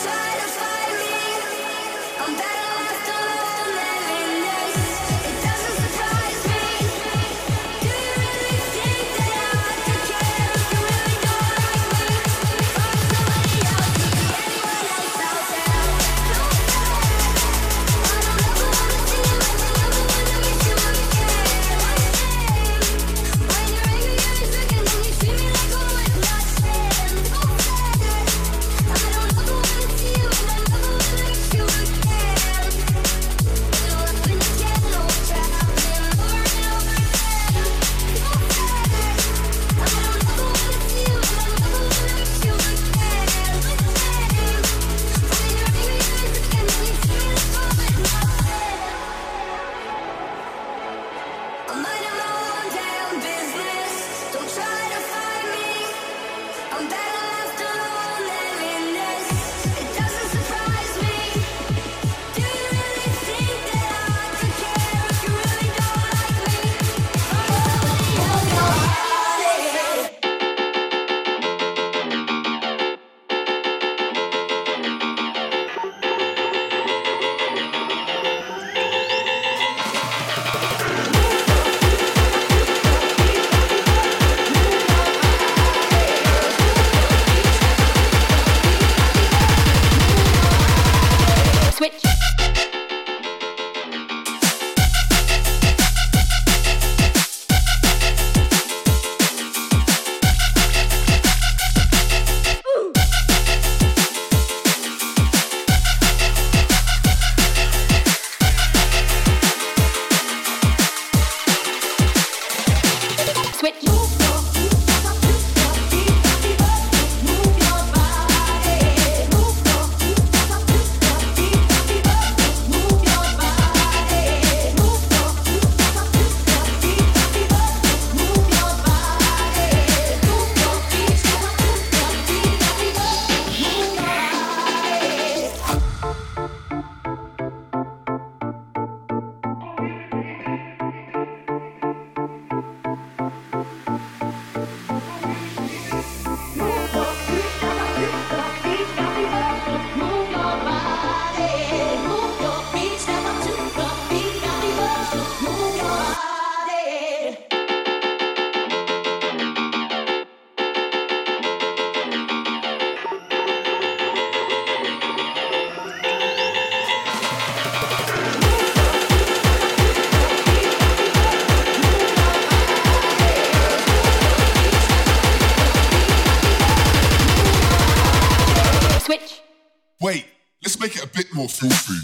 Wait, let's make it a bit more foolproof.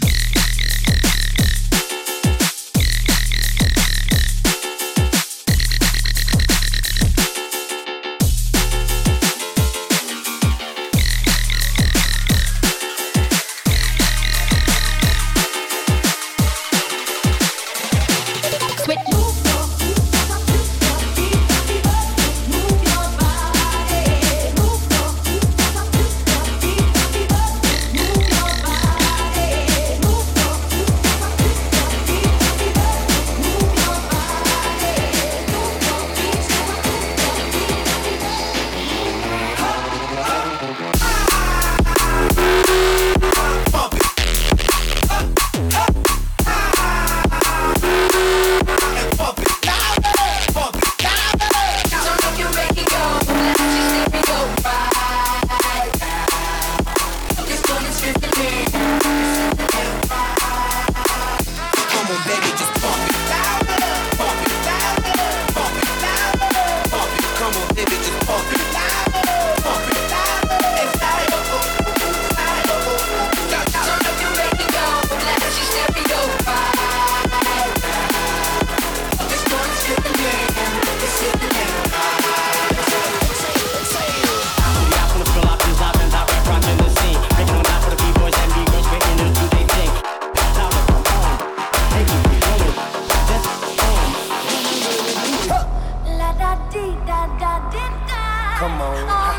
Come on.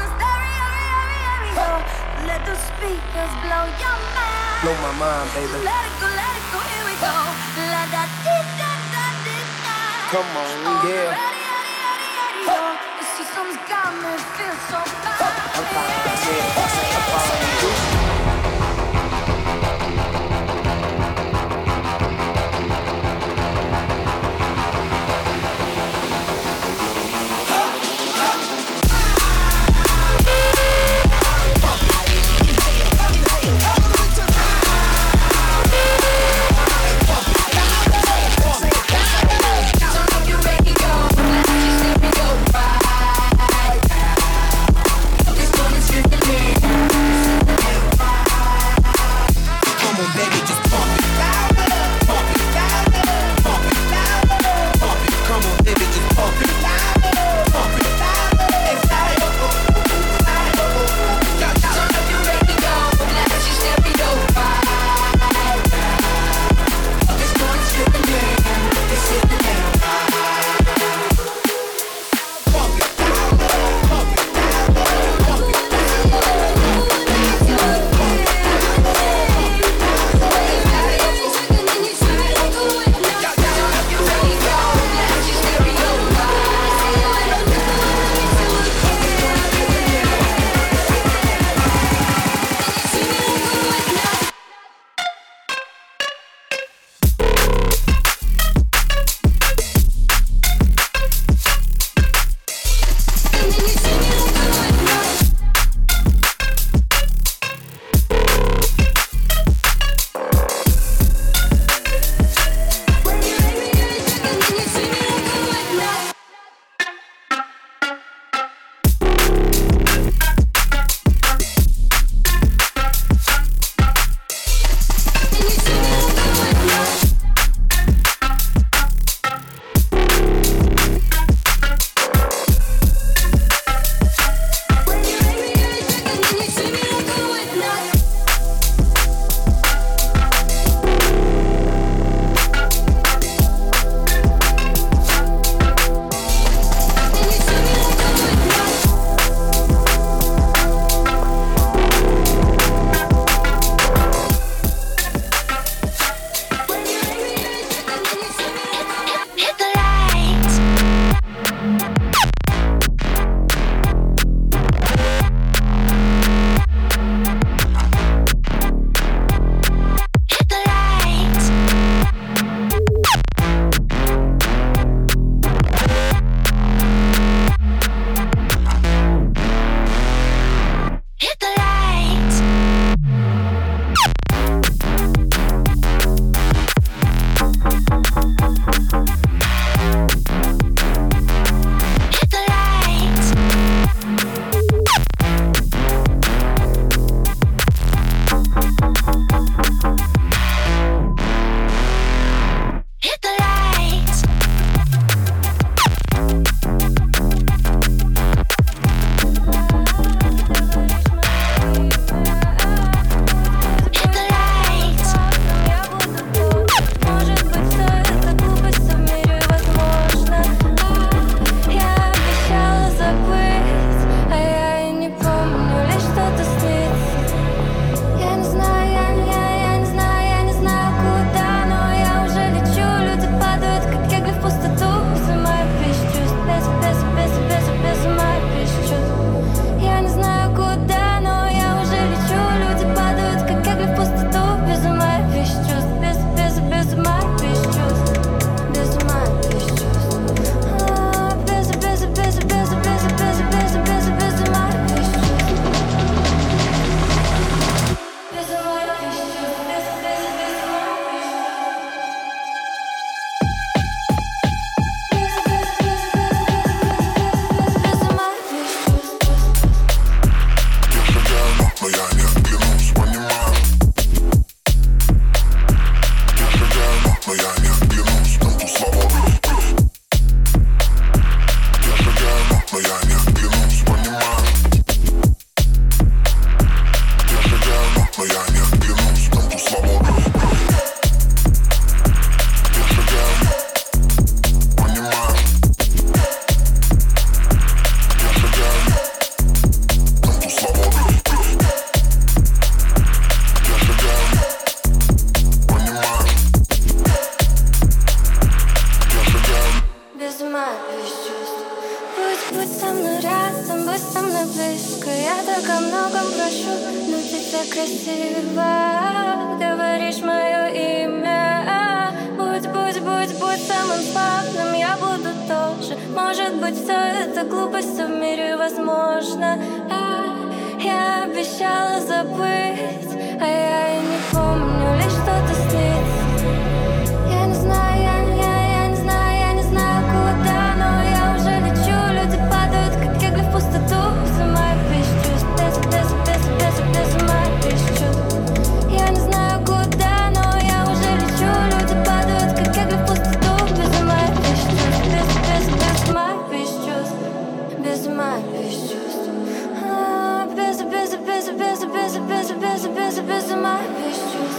Let the speakers blow your mind. Blow my mind, baby. Let it go, here we go. La da di da da di da. Come on, yeah. The system's got me feel so bad. I'm following you. красиво говоришь мое имя. Будь самым славным, я буду тоже. Может быть, все это глупость, в мире возможно. Я обещала забыть, а я и не помню, лишь что-то снится. Я не знаю, я не знаю куда, но я уже лечу. Люди падают, как кегли в пустоту. Безумая без чувств, безумая без чувств. Я не знаю куда, но я уже лечу. Люди падают, как кегли в пустоту. Безумая без чувств, безумая без чувств. Безумая без чувств. Безумая без чувств.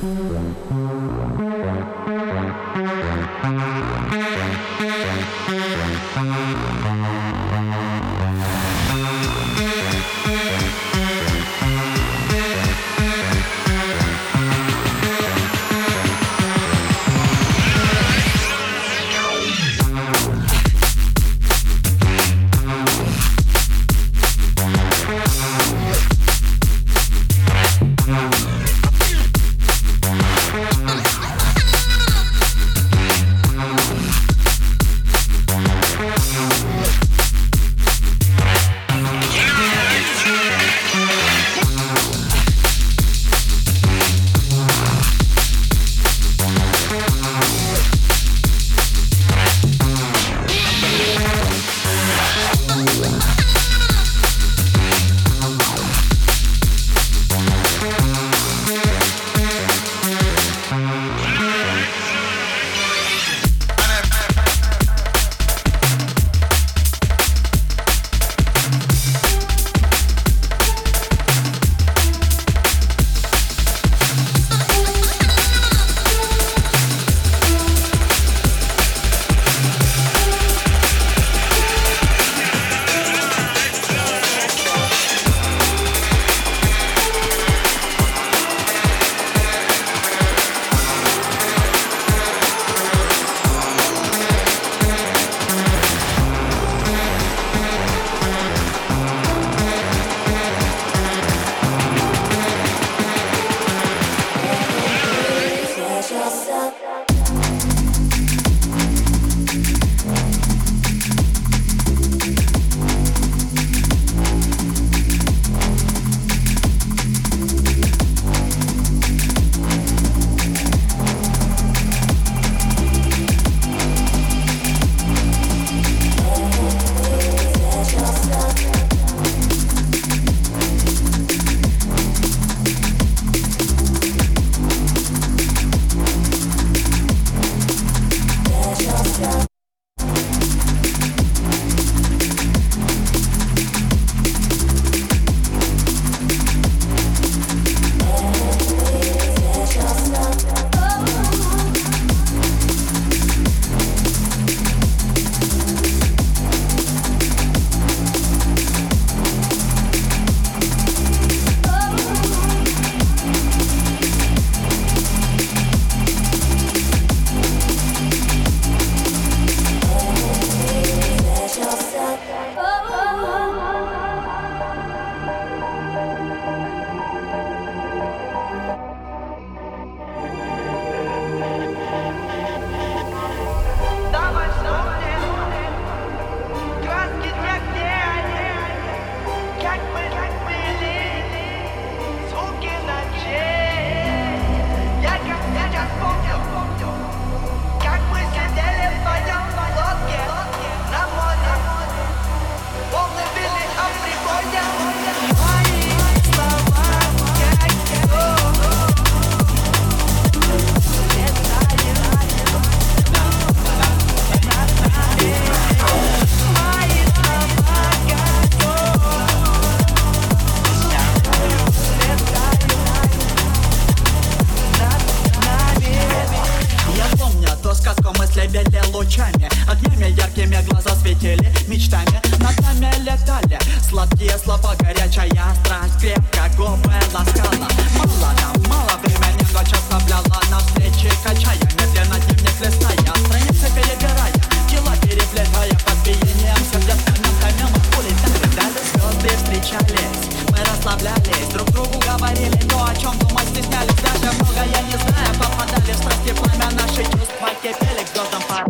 лучами, огнями яркими глаза светили, мечтами над нами летали. Сладкие слова, горячая страсть, крепко губы ласкала. Мало нам, мало времени, ночь оставляла на встречи, качая медленно дневник листая, страницы перебирая, дела переплетая под биением сердец моментами мы улетали. Дали звезды встречались, мы расслаблялись, друг другу говорили то, о чем думать стеснялись. Даже многое не зная, попадали в страсти, пламя наши чувства кипели к звездам пар.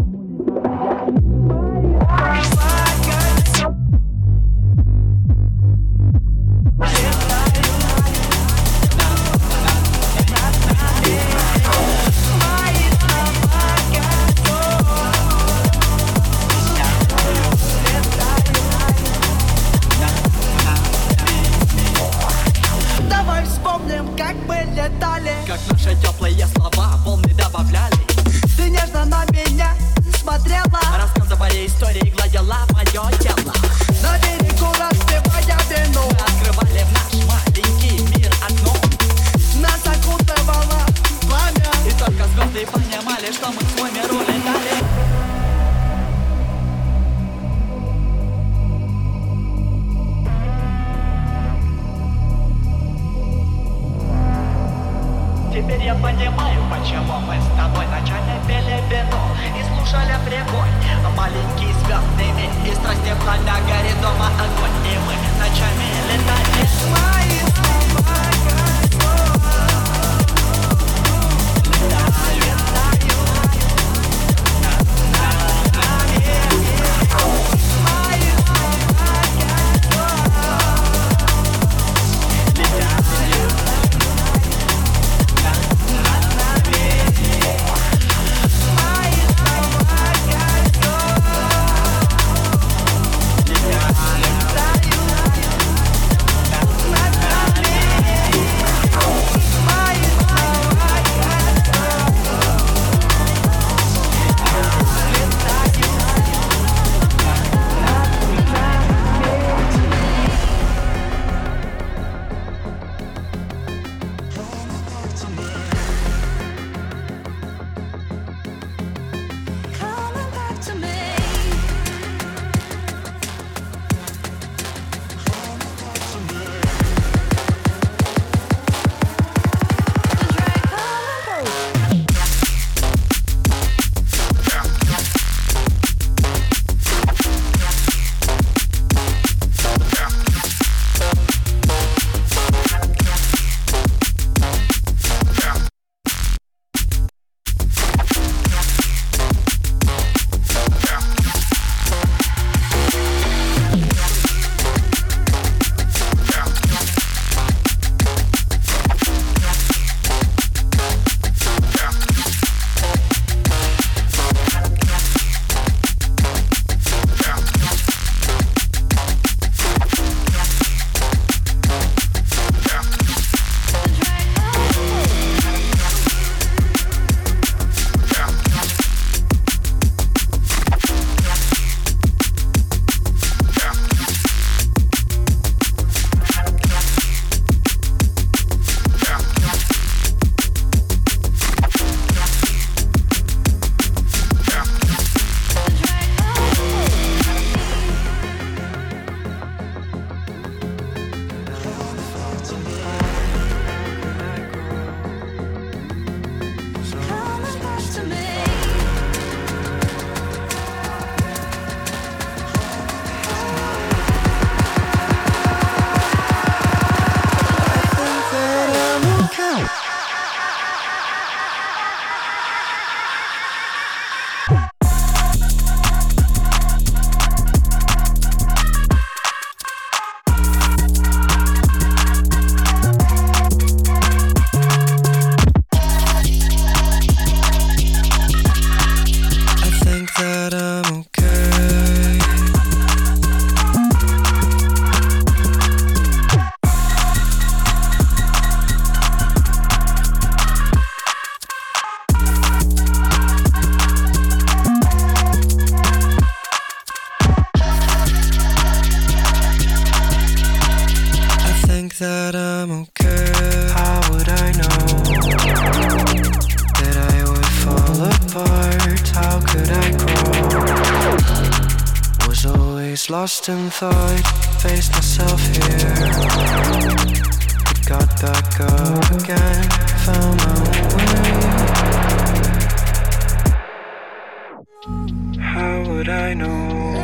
Как наши теплые слова волны добавляли. Ты нежно на меня смотрела, рассказывая истории, гладила мое тело. на берегу распевая вино. Мы открывали в наш маленький мир окно. Нас окутывала Теперь я понимаю, почему мы с тобой ночами пели вино и слушали прибой. Маленький звездный мир и страсти пламя горит дома огонь, и мы ночами летали. Мои слова that I'm okay. How would I know that I would fall apart? How could I grow? Was always lost in thought, faced myself here, but got back up again, found my way. How would I know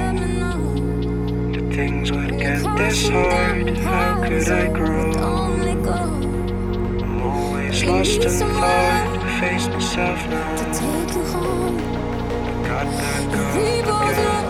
that things would get this hard? How could I grow? I'm always lost in thought, face myself now, got back up again.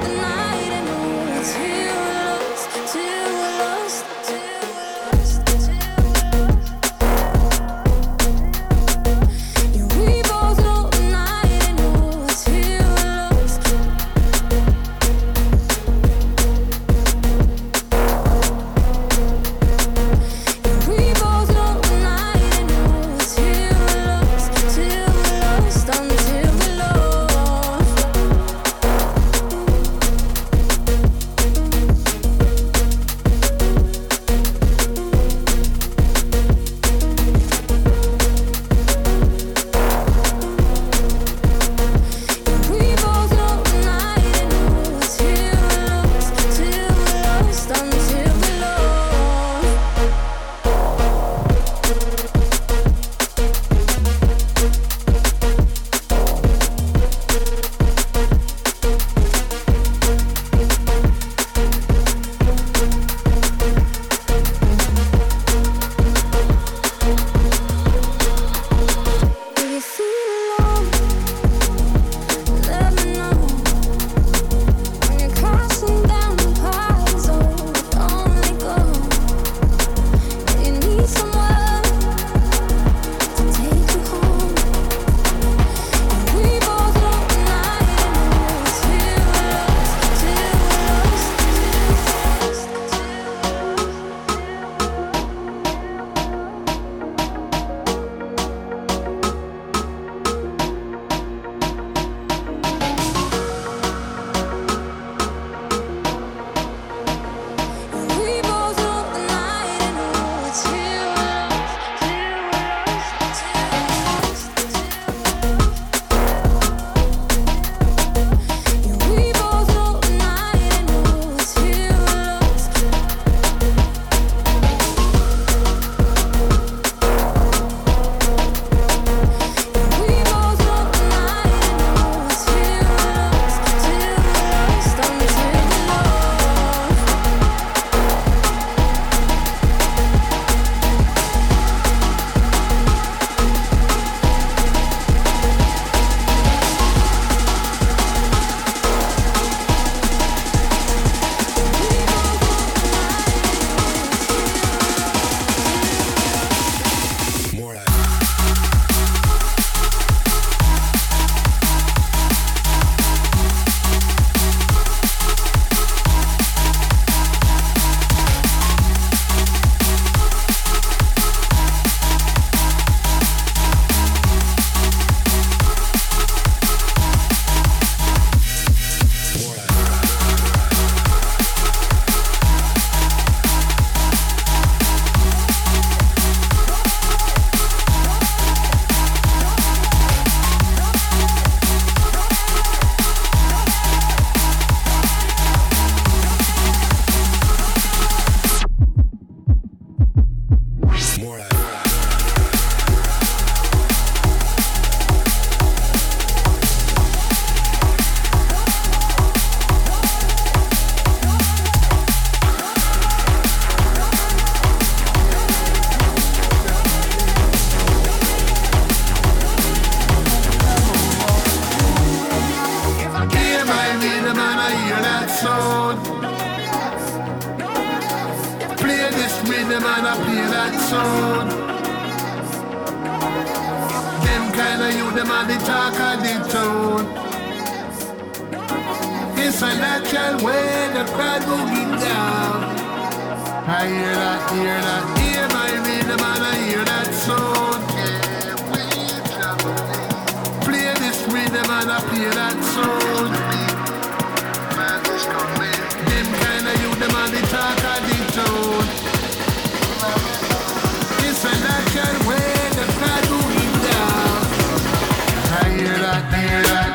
sound. Them kind of you, them are the talk of the town. It's a natural way the crowd moving down. I hear that, hear my rhythm and I hear that sound. Play this rhythm and I play that sound. Them kind of you, them are the talk of the town. It's a natural way the crowd moving down. I hear that, hear that.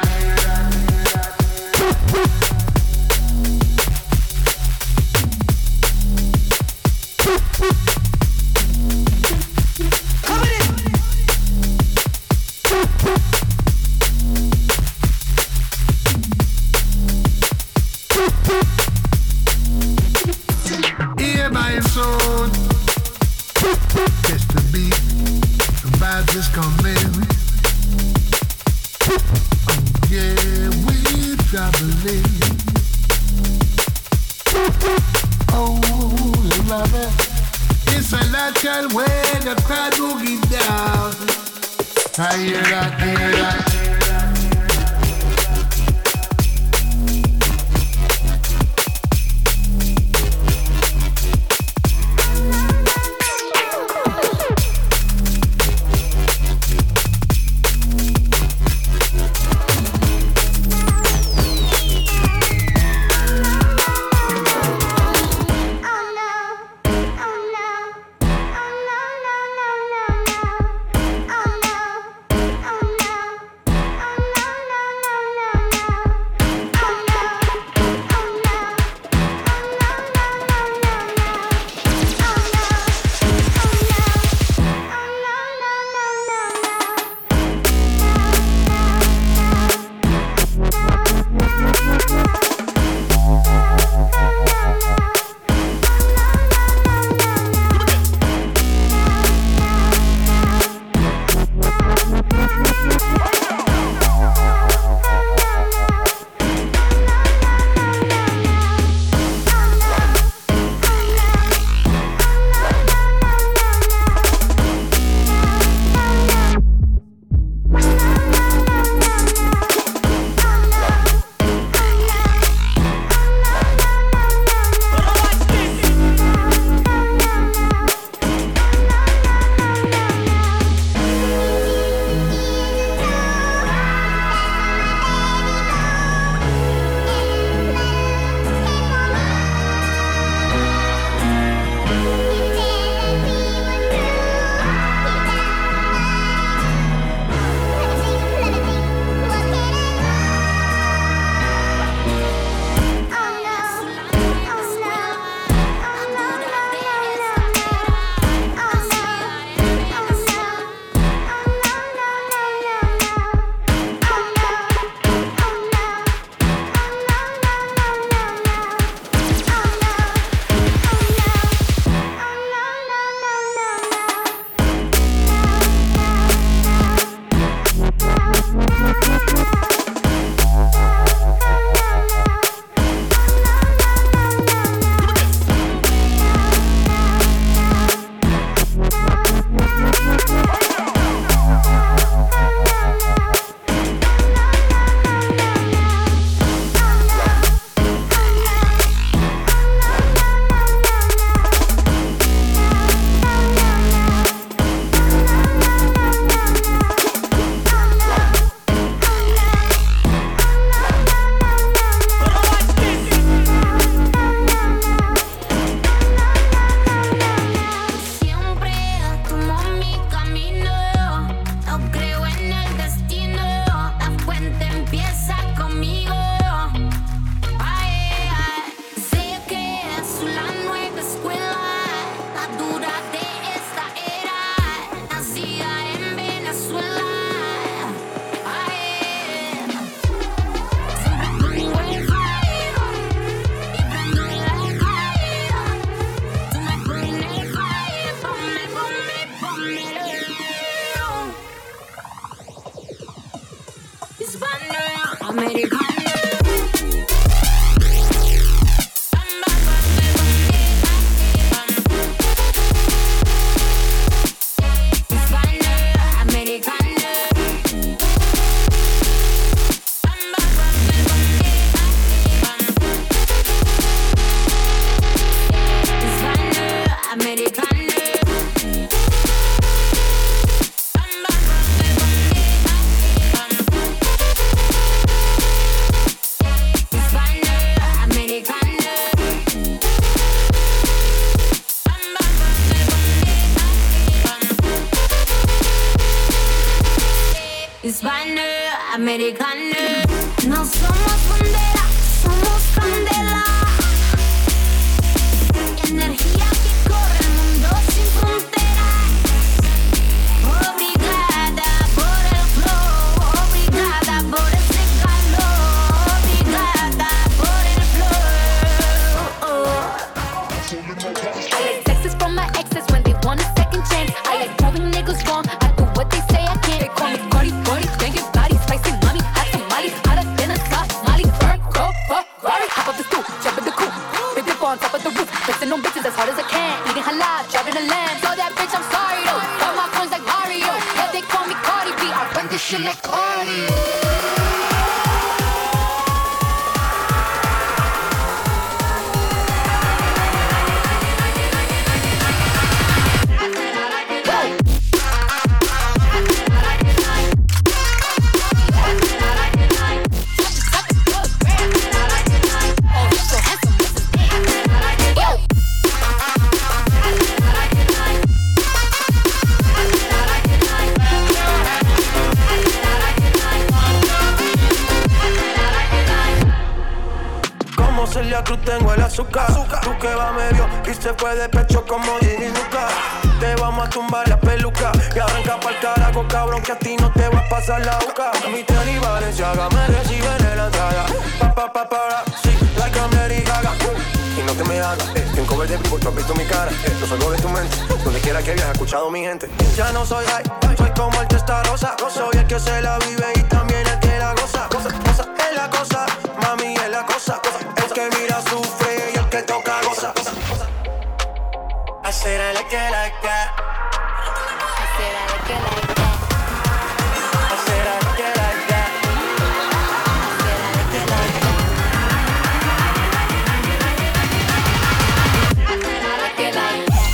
Hear my soul. Just the beat, the vibes is coming. Oh yeah, we traveling. Oh, love it. It's a natural way the crowd boogie down. I hear that, hear that. hispanoamericano. No somos bandera, somos candela. Energía que corre el mundo sin fronteras. Obrigada por el flow, obrigada por ese calor, obrigada por el flow. I like texts from my exes when they want a second chance. I like proving niggas wrong. I do what they say I can't. They call me Cardi, Cardi, banging body, spicy mommy, hot tamales, hotter than a Somali. Go, Rari, hop up the stoop, jump in the coupe, big dip on top of the roof, flexing on bitches as hard as I can, eating halal, driving a lamb. So that bitch, I'm sorry though. All my friends like Mario, yeah they call me Cardi B. I run this shit like Cardi. Celia Cruz tengo el azúcar. Tú que va medio y se fue de pecho como Ginny Luca. Te vamos a tumbar la peluca y arranca pa'l carajo, cabrón, que a ti no te va a pasar la boca. Mi tenis Balenciaga me reciben en la entrada. Sí, like I'm Lady Gaga. Y no te me hagas, en cover de vivo, tú has visto mi cara. Yo salgo de tu mente, donde quiera que hayas escuchado mi gente. Ya no soy high, soy como el Testarossa. No soy el que se la vive y también el que la goza. Cosa, es la cosa, mami es la cosa. El que mira sufre y el que toca goza. I said I like it like that. I said I like it like that. I said I like it like that. I said I like it like that. I like it like that.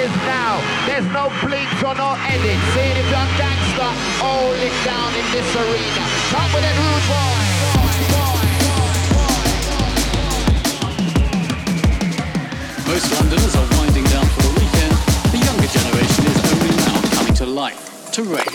is now. There's no blinks or no edits. Saying if you're gangster, hold it down in this arena. Come with it, rude boy. Most Londoners are winding down for the weekend. The younger generation is only now coming to life, to rave.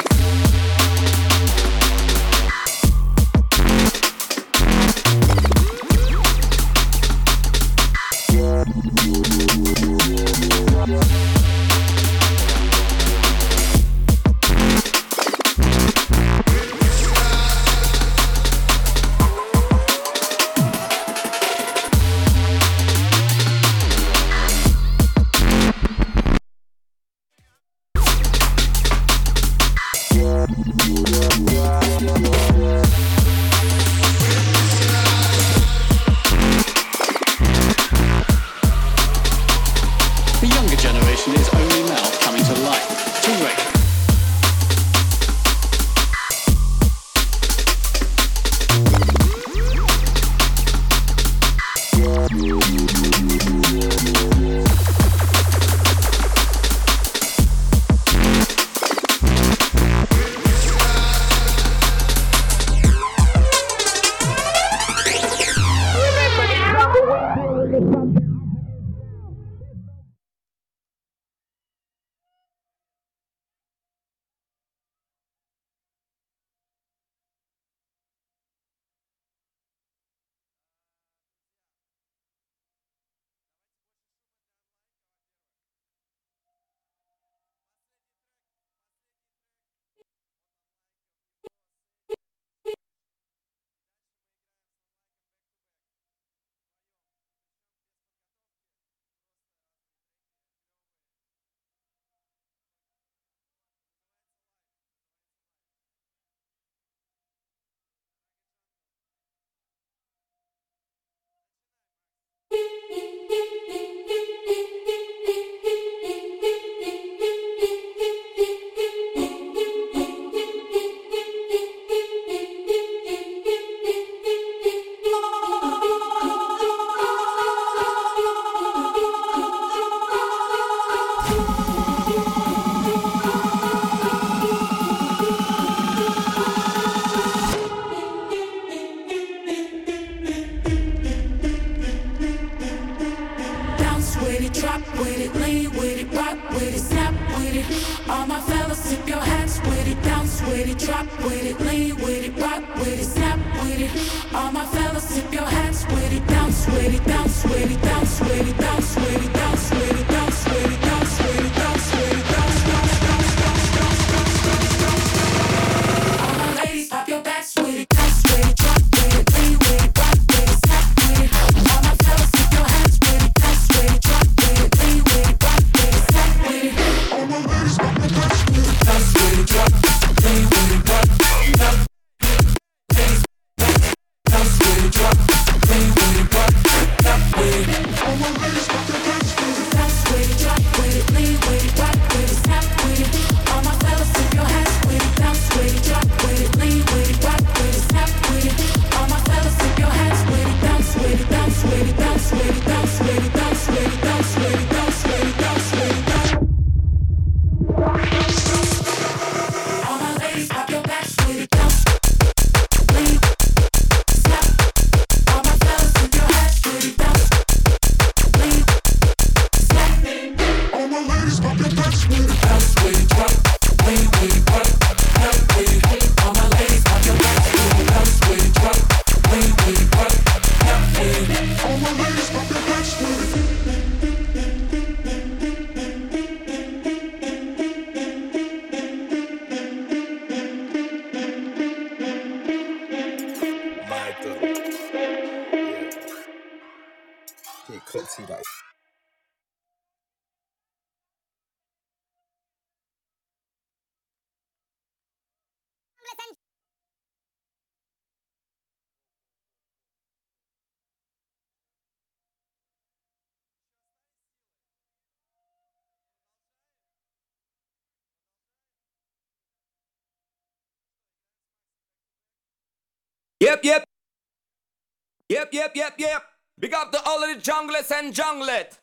Yep. Big up to all of the junglers and junglet.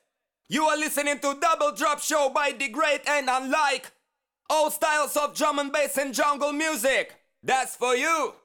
You are listening to Double Drop Show by The Great and Unlike. All styles of drum and bass and jungle music. That's for you.